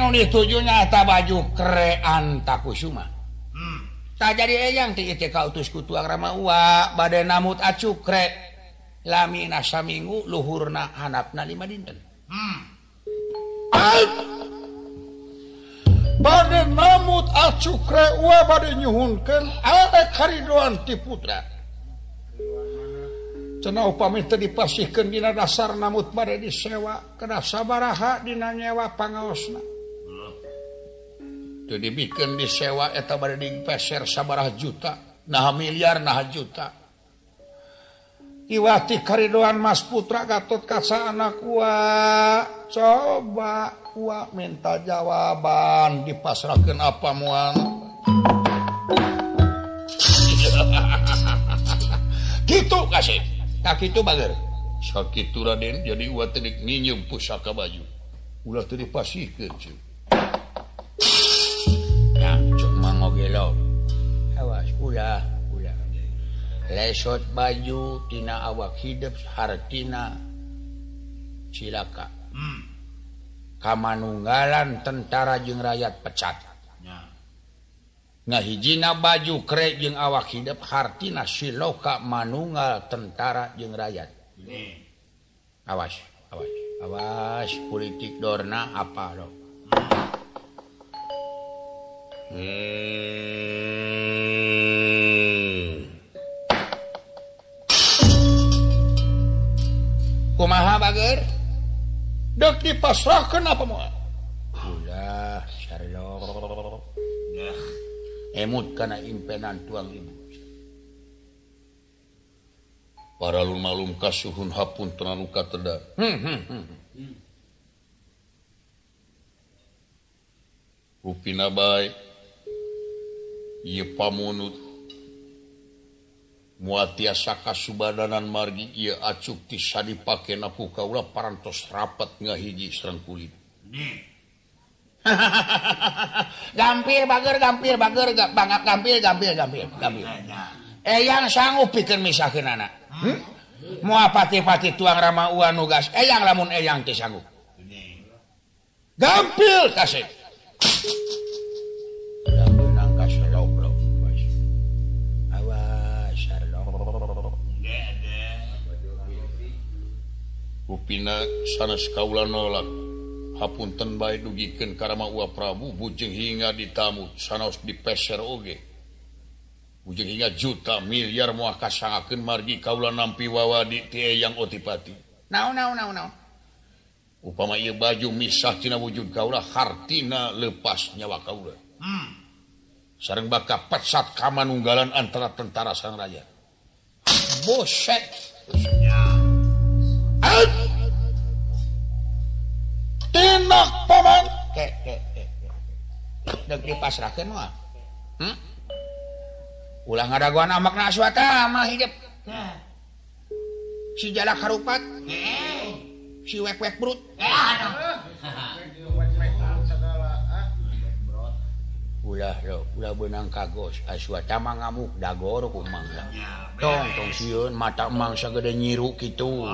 anu ditujunya eta baju krean takusuma. Tak jadi eyang ti teh kautus ku tuang Rama Uwa bade namut acukre lamina saminggu luhurna handapna 5 dinten. Bade namut acukre Uwa bade nyuhunkeun aya karidoan ti putra. Cenah upami teu dipasihkeun dina dasar namut bade disewa kana sabaraha dina nyewa pangaosna. Teu dibikeun disewa eta bade dipeser sabaraha juta, nah miliar nah juta. Iwati karidoan Mas Putra Gatot Kaca anak Uwa. Coba Uwa minta jawaban dipasrahkeun apa moal. Kitu kasih. Tak kitu bager. Sakitu Raden jadi Uwa teu ninyeum pusaka baju. Ulah teu dipasihkeun cuy. Ya, cuma ngogelo. Awas ulah. Lesot baju tina awak hidup hartina cilaka. Kamanunggalan tentara jeung rakyat pecat. Ngahijina baju krek jeung awak hidup hartina siloka manunggal tentara jeung rakyat. Awas politik dorna apa lo. Kumaha bager? Dek dipasrahkeun apa moal? Ulah, Sherlock. Emut kana impenan tuang ibu. Para lumalum kasuhun hapun tenan kateda. Rupina bae ieu pamunut muatiasa kasubadanan margi ieu acuk ti sadipakena ku kaula parantos rapat ngahiji sareng kulit. Gampil bager bangap gampil. Eyang sanggup pikeun misahkeun anak. Moal pati-pati tuang Rama Uwa nugas eyang lamun eyang teh sanggup. Gampil kasih. Udah benang kaselok. Upina sanes kaula nolak hapunten bae dugikeun ka Rama Uwa Prabu bujeng hingga ditamu sanaos dipeser oge bujeng hingga juta miliar moal kasangakeun margi kaula nampi wawadi ti Eyang Otipati. Naon upama ieu baju misah tina wujud kaula hartina lepas nyawa kaula. Sareng baka pecat kamanunggalan antara tentara sang raja. Boset. Tinak paman dek dipasrahkeun moal. Ulah ngadaguan amakna Aswatama hidup. Si jalak harupat. Si wek-wek brut. Ulah benang kagos Aswatama ngamuk dagor ku mangga. Tong sieun mata emang sagede nyiru kitu.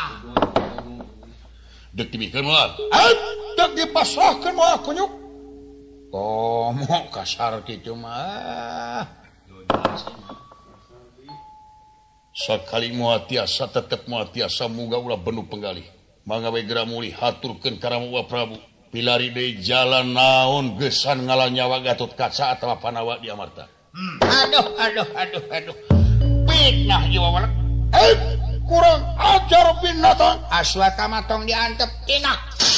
Dek dibikeun moal. Dek dipasrahkeun moal kunyuk. Komo kasar kitu mah. Sakali moal tiasa tetep moal tiasa muga ulah benuh penggalih. Mangga we geura muli haturkeun ka Rama Uwa Prabu. Pilari deui jalan naon geusan ngalah nyawa Gatot Kaca atawa Panawa di Amarta. Aduh. Fitnah jiwa walak. Kurang ajar binatang. Aswatama tong diantep tinak.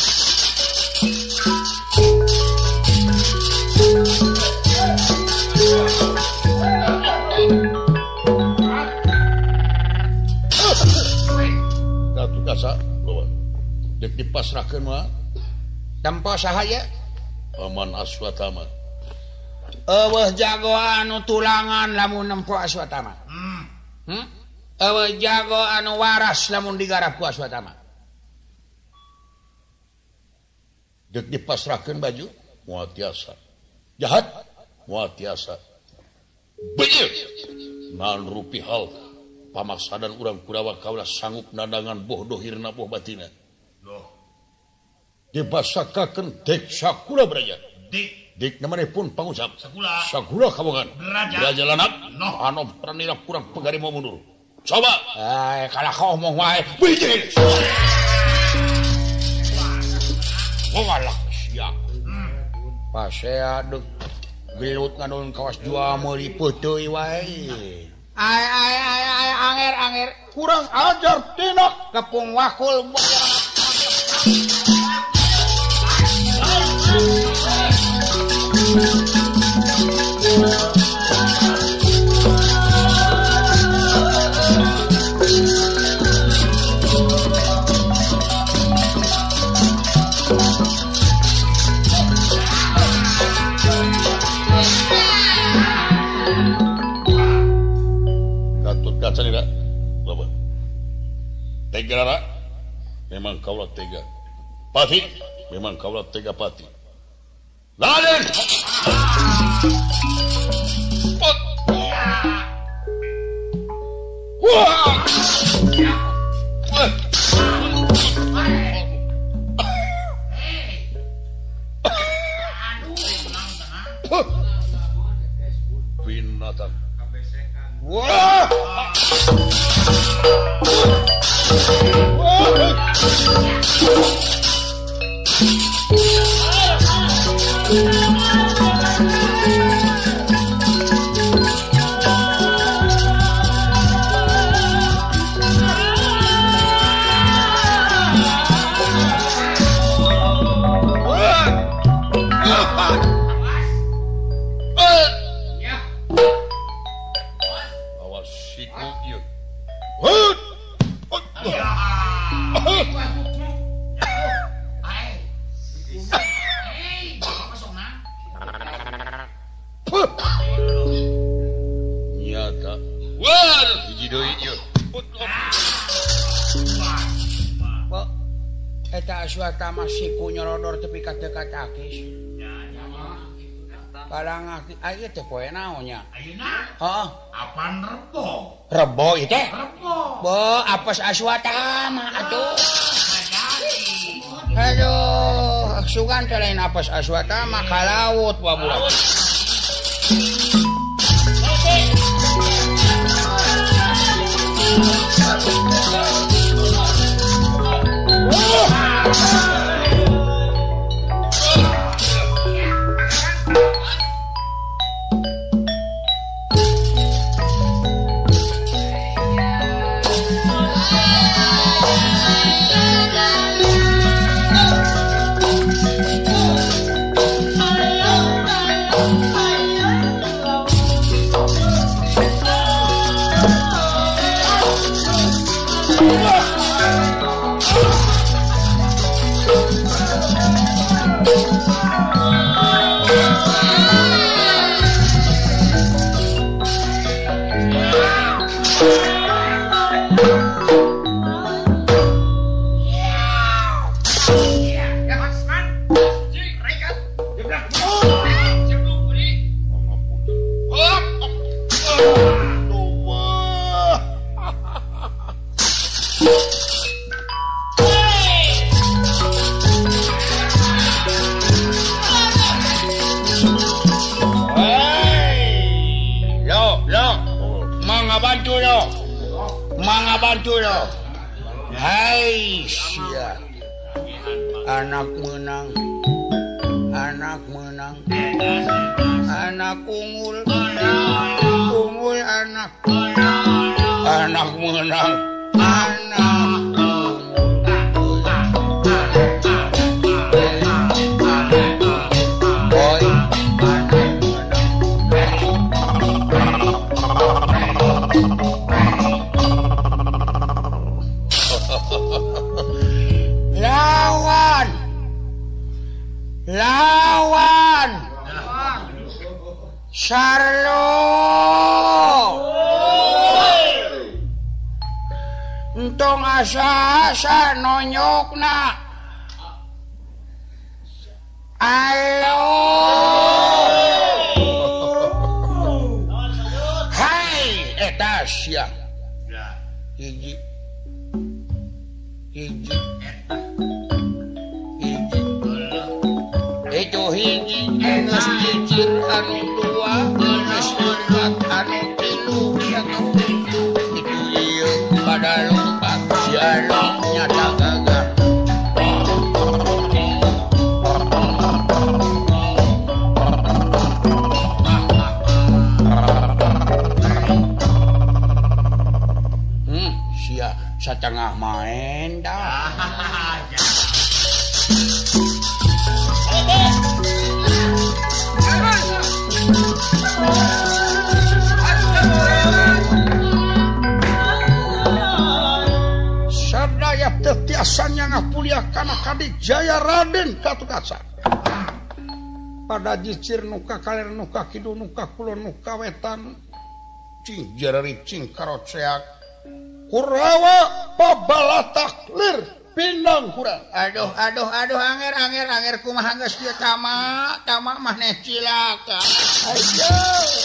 Gatot Kaca bawa. Dek dipasrahkeun mah. Tempo sahaya Paman Aswatama. Eueuh jago anu tulangan lamun nempo Aswatama. Eueuh jago anu waras lamun digarap ku Aswatama. Dek dipasrahkeun baju moal tiasa. Jahat moal tiasa. Beul. Naon rupi hal pamaksadan urang Kurawa kaula sanggup nadangan boh dohirna boh batina. dibasakakeun dek sakula braja. Dik namanipun pangusap. Sakula kawangan. Raja lanak. Anu pranira kurang pegari mau mundur. Coba. Kalau kau mau wae. Bijil. Walah siap. Pasea dek gelut nganun kawas jua meuli peuteui wae. Anger. Kurang ajar tinok kepung wakul. Gatut kaca tidak, Bapak. Tega Rara, memang kaulah tega. Pati, memang kaulah tega Pati. Laden! Wah! Binatang. Wah! Nyata. Wah, hiji deui ieu. Pak, eta aswata masih ku nyorodor tepi ka dekat akis. Kalang aya teh poe naon nya? Ayeuna? Heeh. Apaan rebo? Rebo ieu teh? Rebo. Bo, apes aswata mah atuh. Aduh, sugan teh lain apes aswata mah ka laut babudak. Hai sia. Anak menang. Anak unggul. Unggul anak. Anak menang. Lawan Sarlo entong asa-asa nonyokna alo hai eta sia hiji hiji geus cicir anu dua geus leupat anu tilu itu ieu pada lompat jaluk nyata gagah satengah main dah. Sadaya tetiasannya ngapulia kana Kadijaya Raden Gatot pada jicir nuka kaler nuka kidul nuka kulon nuka wetan cing jarari cing karoceak Kurawa pabalataklir pindang kurang. Aduh anger kumaha geus kieu tama maneh cilaka. Ayo.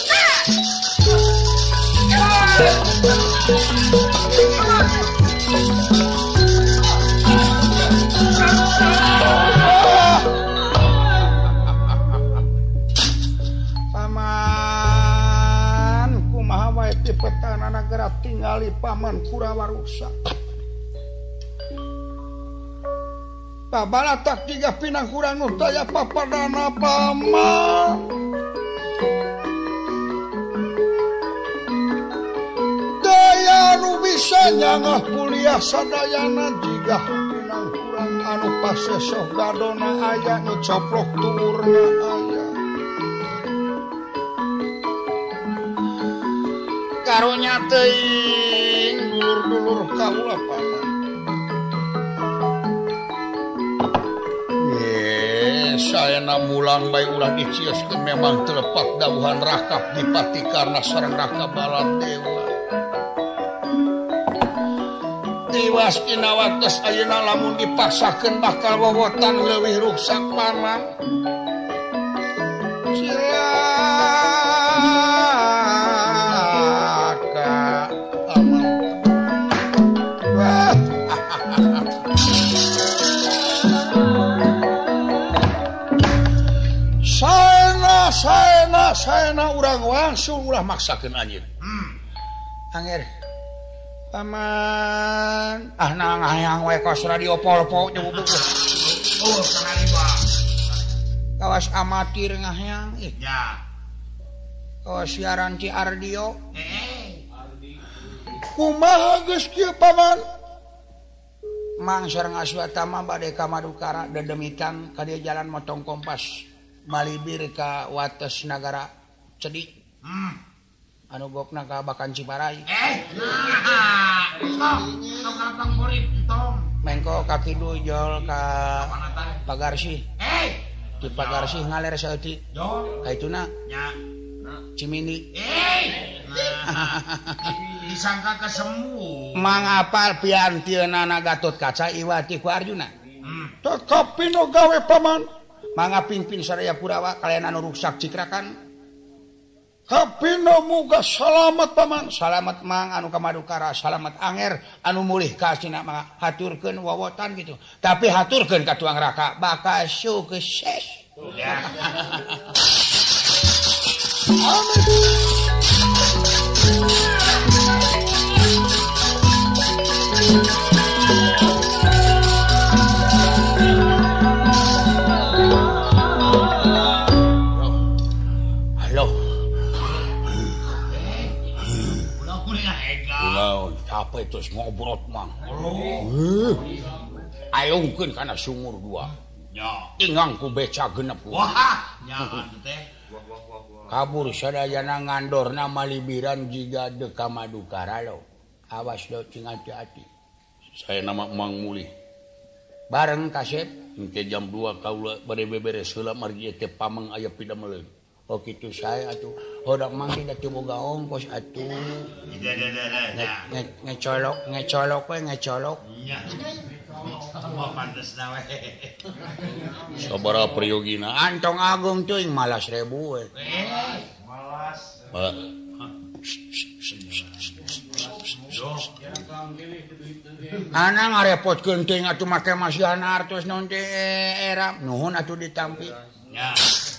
Petana nagara tinggali paman Kurawa rusak. Pabalatak tiga pinang kurang nutaya papadana paman. Daya nu bisa nyangah kuliah sadayana jigah pinang kurang anu pasesoh gadona aya nu coplok tuurna aya. Karunya teuing dulur-dulur kaula paman. Saena mulang bae ulah dicioskeun memang telepat dawuhan Rakap Dipati Karna sareng Raka Baladewa. Tiwas dina wates ayeuna lamun dipaksakeun bakal wowotan leuwih rusak paman. Saena urang wangsul ulah maksakeun anjeun. Anger. Paman, nang hayang we kos radio polpo nyebut. Oh, sanari Bang. Kawas amatir ngahayang. Ya. Kawas siaran Ci Ardio. Kumaha geus kieu paman? Mang sareng Aswatama bade ka Madukara dedemitan ka dieu jalan motong kompas. Malibir ka wates nagara Cedik. Anu gokna ka Bakan Ciparai. Tong murid tong. Mengko ka kidul jol ka Pagarsih. Di Pagarsih ngaler saeutik. Ka ituna. Nya. Cimindi. Disangka kesemu. Mangapal piantieuna Gatot Kaca iwati ku Arjuna. Tetapi no gawe paman. Mangga pimpin sadaya Kurawa kalian anu rusak cikrakan. Kapino muga salamet paman. Salamet mang anu ka Madukara, salamet anger anu mulih ka Cina mangga haturkeun wawotan gitu. Tapi haturkeun ka tuang Raka bakal sukses. Ya. Capek terus ngobrol mang. Ayungkeun kana sumur dua. Nya. Ingang ku beca genep. Wah, nya teh. Kabur sadayana ngandorna malibiran jiga de ka Madukara lo. Awas do cing hati-hati. Saya nama Mang Mulih. Bareng kasep engke jam 2 kaula bade beberes heula margi teh pameng aya pidameleun. Oh gitu saya atuh. Hodak mang tidak boga ongkos atuh. Ngecolok we ngecolok. Iya. Oh pantesna we. Sabaraha priyogina? Antong agung teuing malas 1000 we. Malas. Ana ngarepot genting atuh make masih anar terus non era nuhun atuh ditampi. Ya.